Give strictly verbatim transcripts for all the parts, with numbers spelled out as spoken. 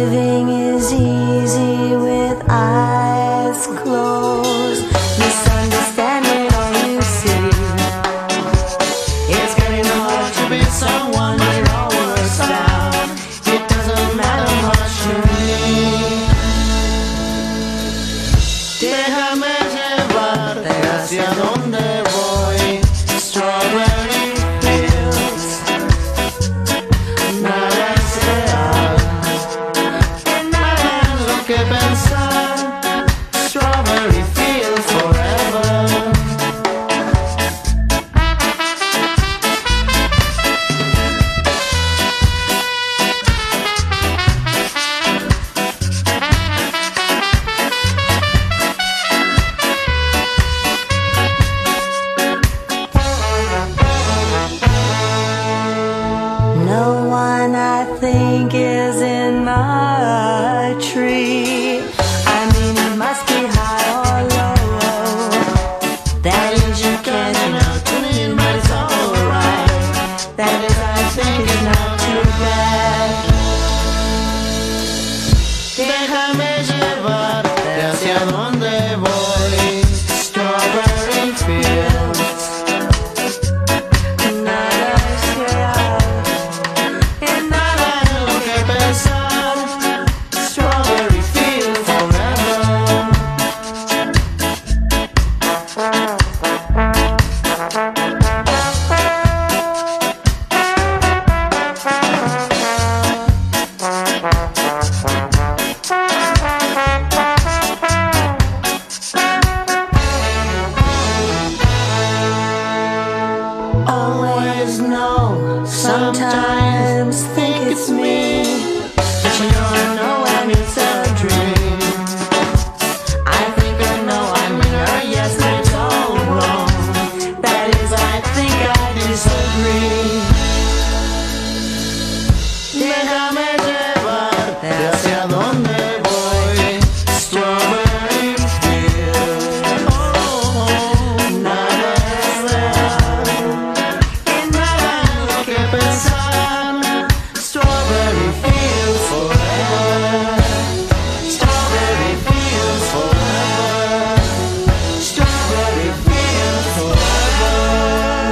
Living is easy with eyes closed. Misunderstanding all you see. It's getting hard to be someone when it all works out. It doesn't matter much to me. Déjame llevarte hacia donde voy. Strawberry fields. Nada es real. Nada es lo que pensar. Strawberry fields forever. No one I think is in my tree. I mean, it must be high or low. That is, you can't know to me, but it's alright. That is, I think it's not too bad. Déjame llevarte hacia donde voy. Strawberry fields. Nada es real. And nada es lo que pensar. Strawberry fields forever. Always know, sometimes think it's me, but you don't know when it's a dream. I think I know I'm in her, yes, but it's all wrong. That is, I think I disagree. Déjame llevarte hacia donde voy. Strawberry fields. Oh, nada es real. And nada es lo que pensar. Strawberry fields forever. Strawberry fields forever. Strawberry fields forever.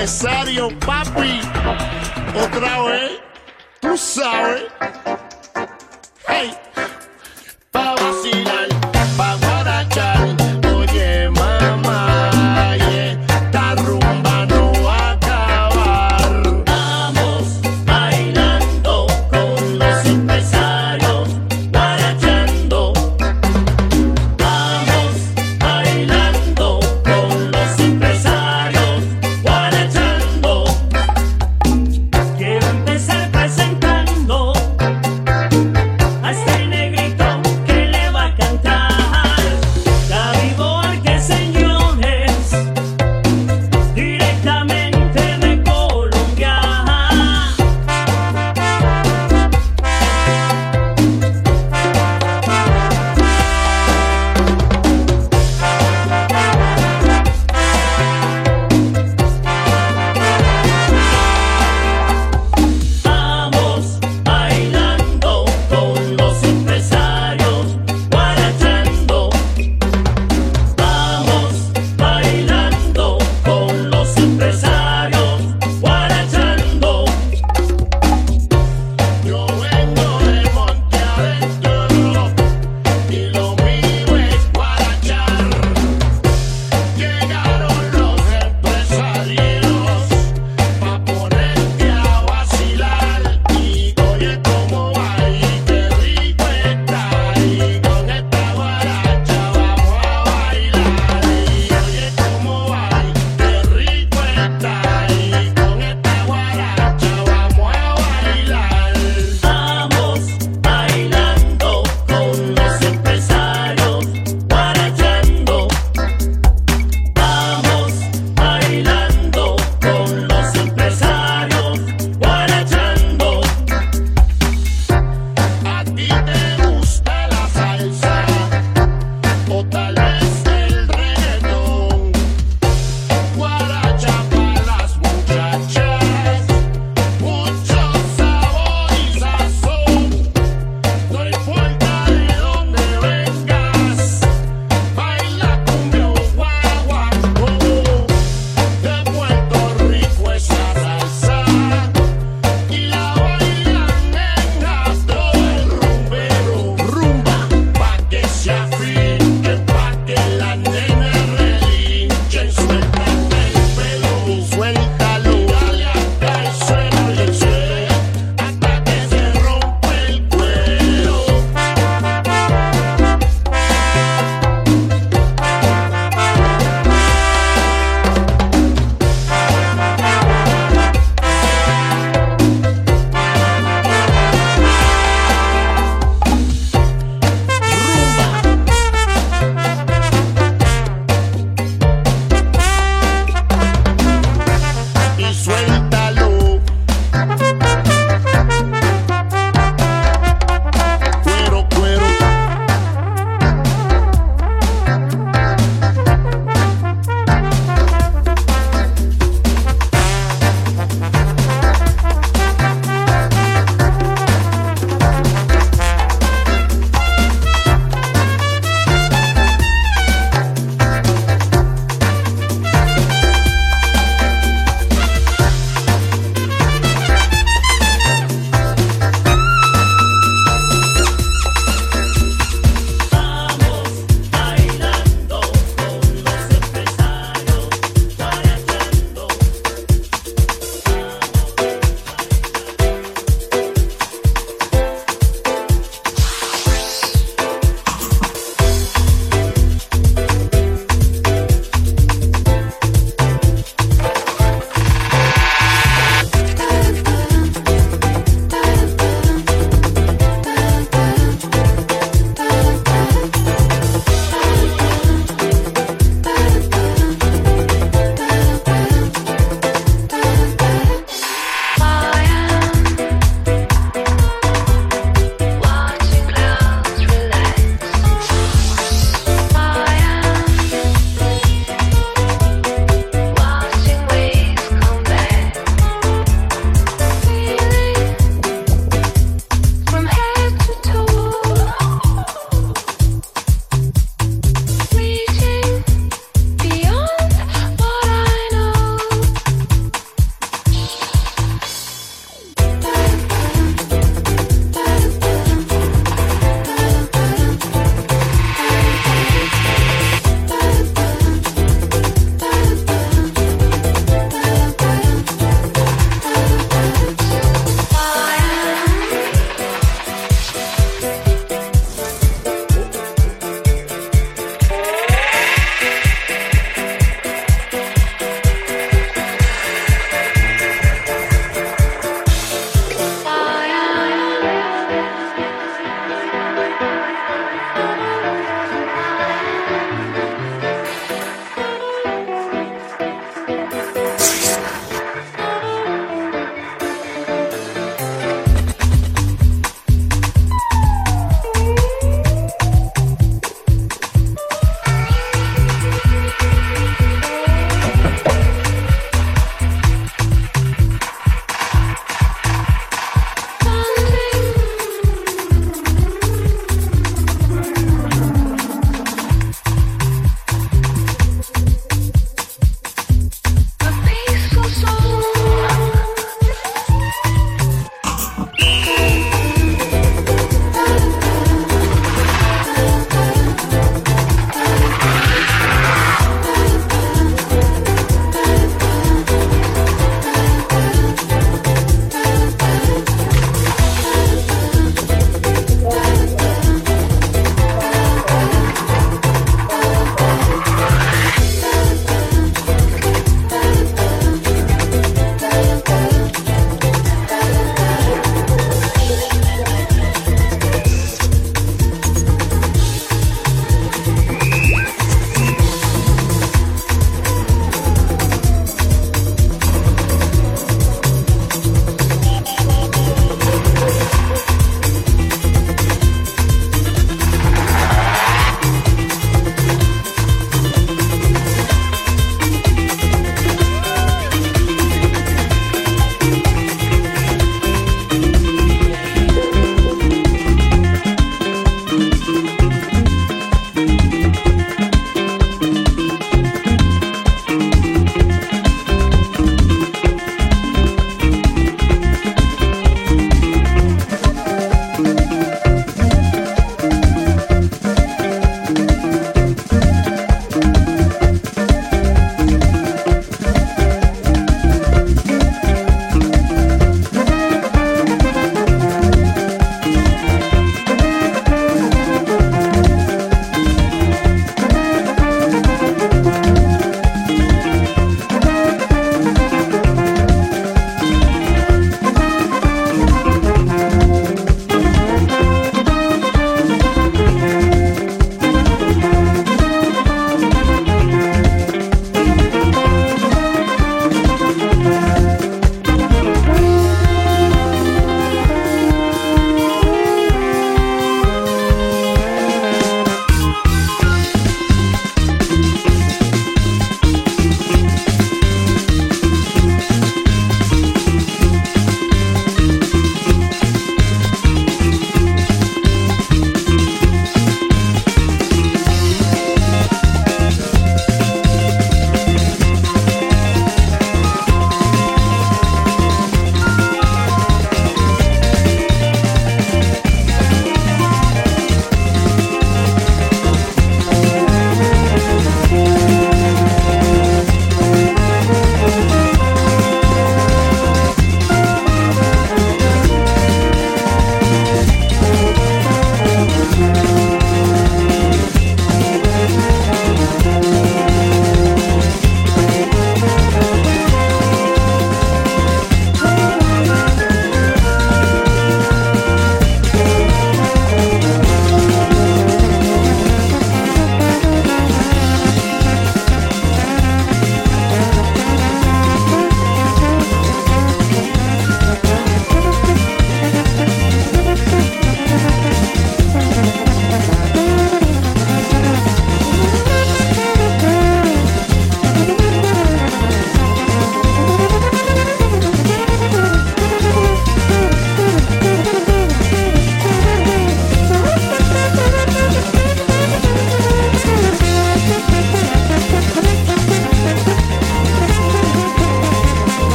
empresario, papi. Otra vez, tú sabes. Hey, pa' vacilar, pa' guarachar. Oye, mamá, y esta rumba no va a acabar. Vamos bailando con los empresarios, guarachando. Vamos bailando con los empresarios, guarachando. Quiero empezar presentando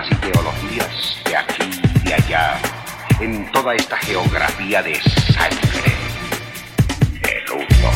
ideologías de aquí y de allá, en toda esta geografía de sangre, de luto.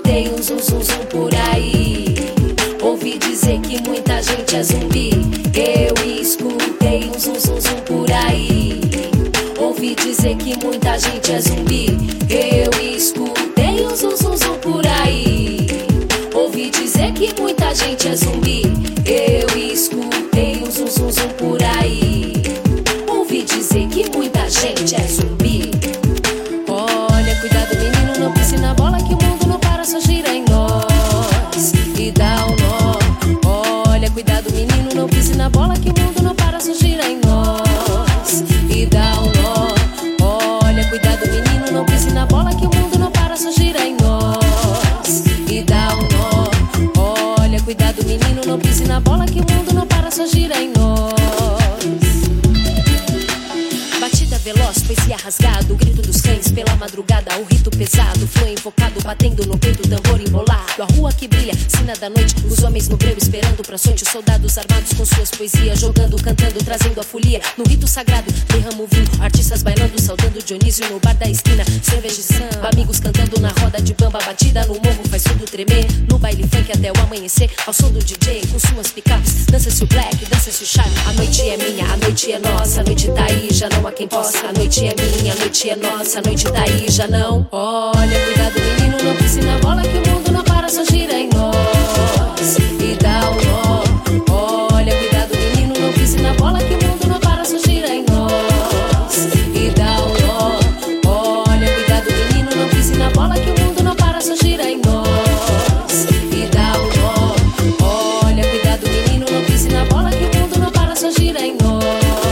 escutei um zum zum zum por aí. Ouvi dizer que muita gente é zumbi. Eu escutei um zum zum zum por aí. Ouvi dizer que muita gente é zumbi. Eu escutei um zum zum zum por aí. Ouvi dizer que muita gente é zumbi. Eu escutei um zum zum zum por aí. Ouvi dizer que muita gente é zumbi. Olha, cuidado menino, não pise na bola que o mundo não para, só gira em nós e dá um nó. Olha, cuidado menino, não pise na bola que o mundo não para, só gira em nós e dá um nó. Olha, cuidado menino, não pise na bola que o mundo não para, só gira em nós e dá um nó. Olha, cuidado menino, não pise na bola que o mundo não para, só gira em nós. Batida veloz, poesia rasgado, o grito dos cães pela madrugada, o rito pesado, foi invocado, batendo no peito, tambor embolado. A rua que brilha, sina da noite, os homens no breu esperando pra sorte, os soldados armados com suas poesias, jogando, cantando, trazendo a folia. No rito sagrado, derrama o vinho, artistas bailando, saudando Dionísio no bar da esquina, cerveja e samba, amigos cantando na roda de bamba, batida no morro faz tudo tremer, no baile funk até o amanhecer, ao som do D J com suas picapes, dança-se o black, dança-se o charme. A noite é minha, a noite é nossa, a noite tá aí, já não há quem possa. A noite é minha, a noite é nossa, a noite tá aí, já não. Olha, cuidado menino, não pise na bola que o mundo não para, só gira em nós e dá um nó. Olha, cuidado menino, não pise na bola que o mundo não para, só gira em nós e dá um nó. Olha, cuidado menino, não pise na bola que o mundo não para, só gira em nós e dá um nó. Olha, cuidado menino, não pise na bola que o mundo não para, só gira em nós.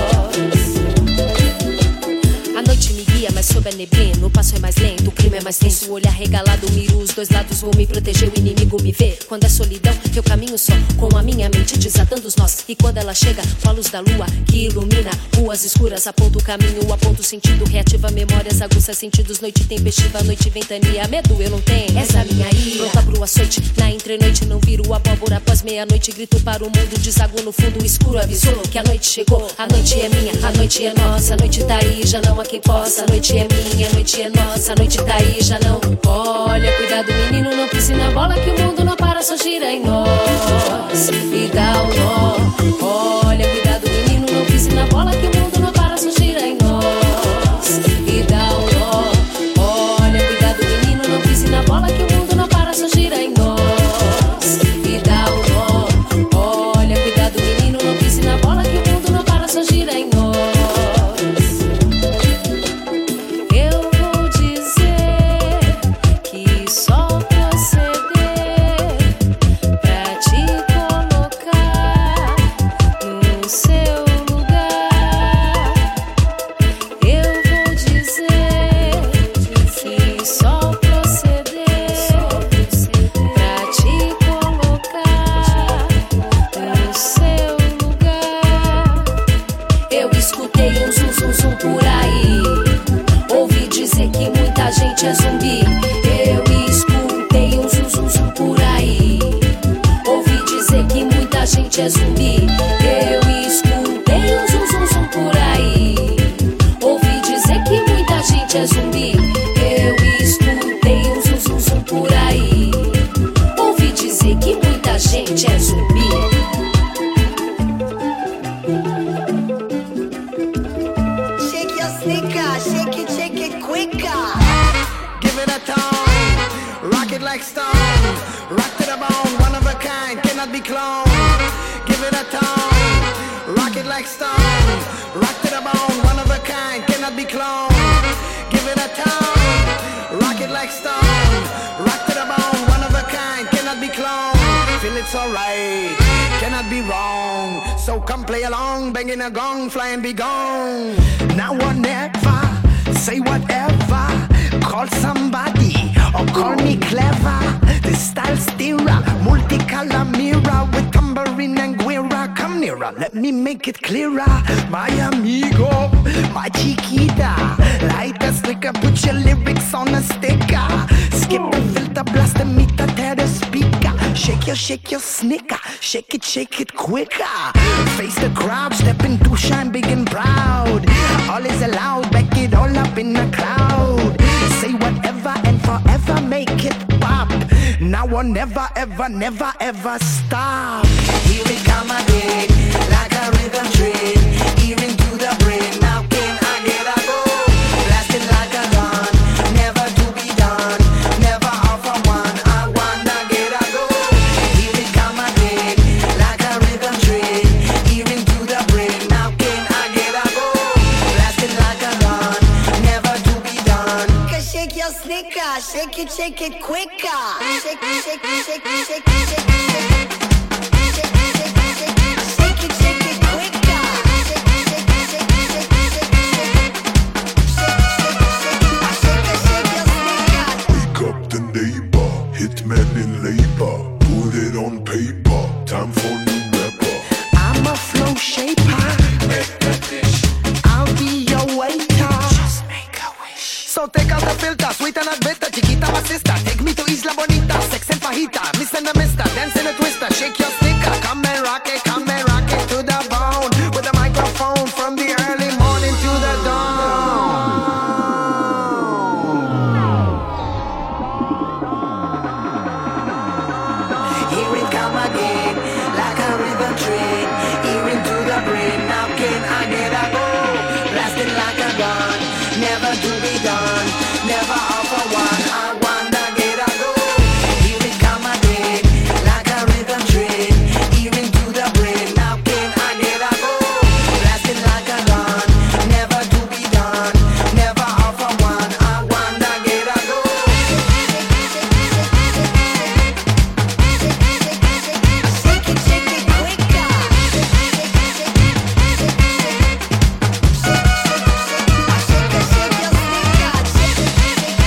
Mas sob a neblina, o passo é mais lento, o clima é mais tenso, o olhar regalado, miro os dois lados, vou me proteger, o inimigo me vê. Quando é solidão, eu caminho só, com a minha mente desatando os nós. E quando ela chega, com a luz da lua, que ilumina ruas escuras, aponta o caminho, aponta o sentido, reativa memórias, aguça sentidos, noite tempestiva, noite ventania, medo eu não tenho, essa minha ira. Pronta pro açoite, na entrenoite, não viro abóbora, após meia-noite, grito para o mundo, desaguo no fundo, escuro avisou que a noite chegou. A noite é minha, a noite é nossa, a noite tá aí, já não há quem possa. A noite é minha, a noite é nossa, a noite tá aí, já não. Olha, cuidado menino, não pise na bola que o mundo não para, só gira em nós e dá um nó. Olha, cuidado menino, não pise na bola que o mundo não para, só gira em nós e dá um nó. Olha, cuidado menino, não pise na bola que o mundo não para, só gira em nós e dá um nó. Olha, cuidado menino, não pise na bola que o mundo não para, só gira em nós. Gente é zumbi, eu escutei um zum zum zum por aí. Ouvi dizer que muita gente é zumbi. Eu escutei um zum zum zum por aí. Ouvi dizer que muita gente é zumbi. Eu escutei um zum zum zum por aí. Ouvi dizer que muita gente é zumbi. Shake your sneaker, shake it, shake it quicker. Rock it like stone, rock to the bone, one of a kind, cannot be cloned. Give it a tone, rock it like stone, rock to the bone, one of a kind, cannot be cloned. Give it a tone, rock it like stone, rock to the bone, one of a kind, cannot be cloned. Feel it's alright, cannot be wrong, so come play along, banging a gong, fly and be gone. Now or never, say whatever, call somebody or call me clever. The style steerer, multicolor mirror with tambourine and guira. Come nearer, let me make it clearer. My amigo, my chiquita, light a slicker, put your lyrics on a sticker. Skip the filter, blast the meter, tear the speaker. Shake your, shake your sneaker, shake it, shake it quicker. Face the crowd, step into shine big and proud. All is allowed, back it all up in the crowd. Say whatever and forever make it pop. Now one never ever, never ever stop. Here we come again, like a rhythm train, here into the brain. Now can I get a go? Blasting like a gun, never to be done, never off for one. I wanna get a go. Here we come again, like a rhythm train, here into the brain. Now can I get a go? Blasting like a gun, never to be done. Shake your sneaker, shake it, shake it quicker. Shake, shake, shake, shake, shake, shake, shake, shake, shake it, shake it quicker. Shake, shake, shake, shake, shake, shake, shake, shake your sneaker. Wake up the neighbor, hitman in labor, put it on paper, time for new rapper. I'm a flow shaper, I'll be your waiter. Just make a wish. So take out the filter, sweet and bitter, chiquita basista. Take me to Isla Bonita, sex and fajita, miss and a mister, dance in a twister, shake your sticker. Come and rock it, come and rock it to the bone, with a microphone from the early morning to the dawn. Here we come again, like a rhythm train, here into the brain. Now can I get a go? Blasting like a gun, never to be done, never off for one. I wanna get a go. Here we come again, like a rhythm train, here into the brain. Now can I get a go? Blasting like a gun, never to be done, never off for one. I wanna get a go. Shake it, shake it quicker. Shake it, shake your sneaker. Shake it, shake it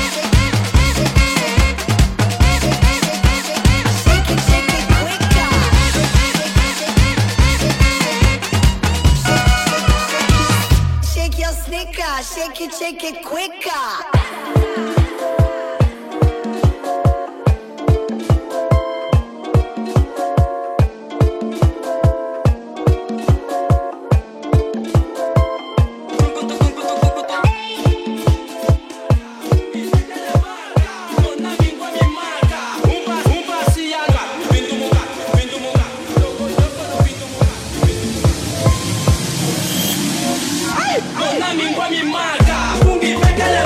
quicker. Shake your sneaker. Shake it, shake it quicker. Dona mingua mi marca, fungi pekele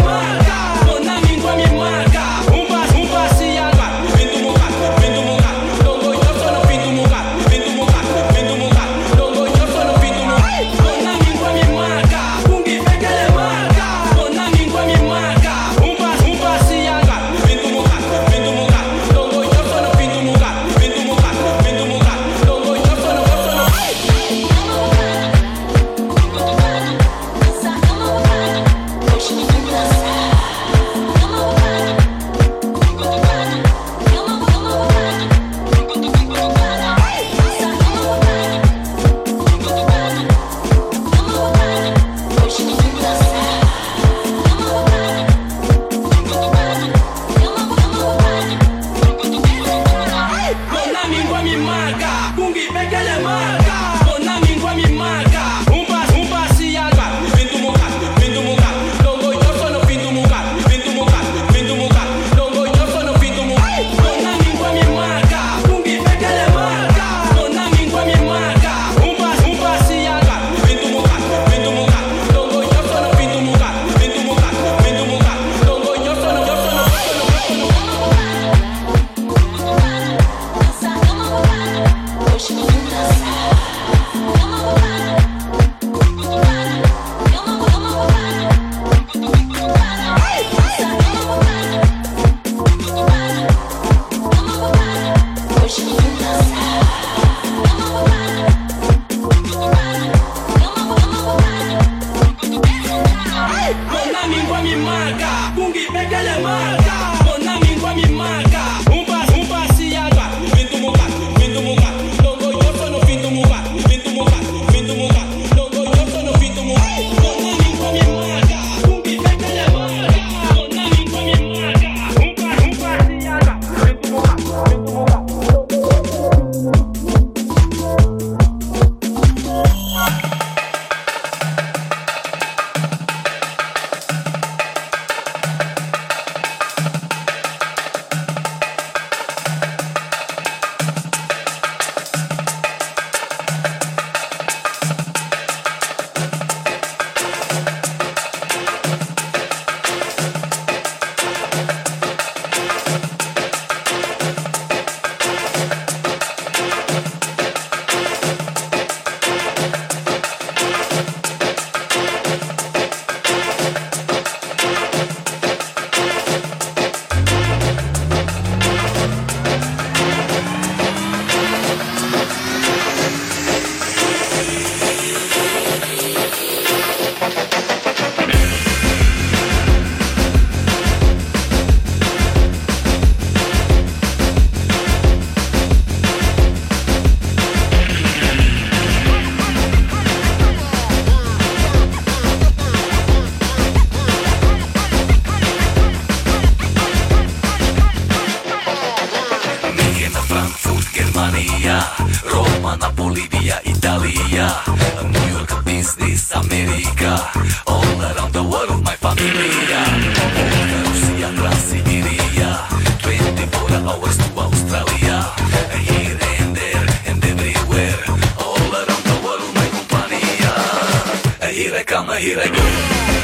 Albania, Roma, Napoli, via Italia, New York, business, America, all around the world, my familia, Russia, Transsiberia, twenty-four hours to Australia, here and there and everywhere, all around the world, my compania, here I come, here I go.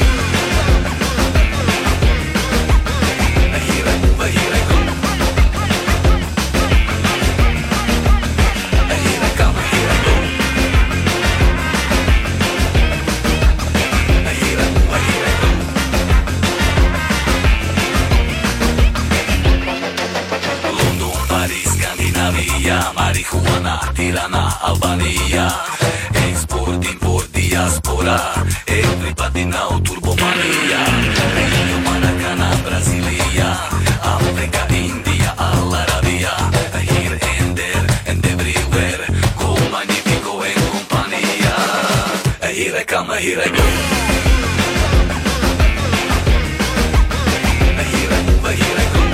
Marihuana, Tirana, Albania, export, import, diaspora, everybody now turbomania, Rio, Maracana, Brasilia, Africa, India, Al Arabia, here and there and everywhere, go magnifico en compania, here I come, here I go. Here I move, here I go.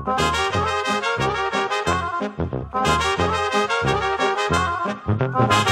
Thank you.